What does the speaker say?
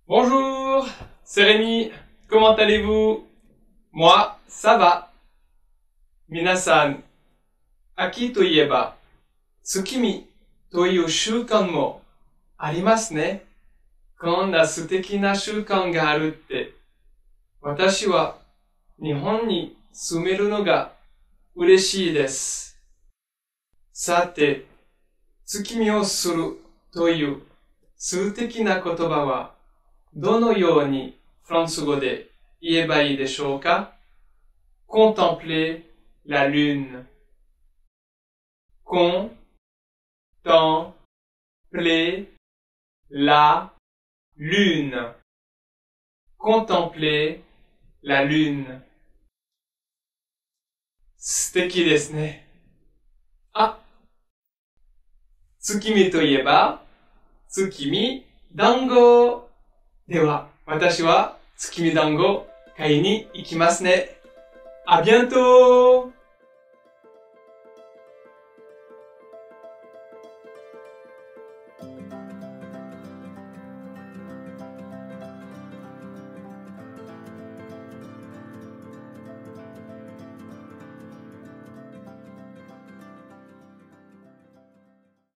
Bonjour, c'est Rémi. Comment allez-vous? Moi, ça va. 皆さん、秋といえば、月見という習慣もありますね。こんな素敵な習慣があるって、私は日本に住めるのが嬉しいです。さて、月見をするという素敵な言葉は、どのようにフランス語で言えばいいでしょうか？ Contempler la lune. Contempler la lune. Contempler la lune. 素敵ですね。あ、月見といえば、月見団子。では、私は月見団子買いに行きますね。À bientôt!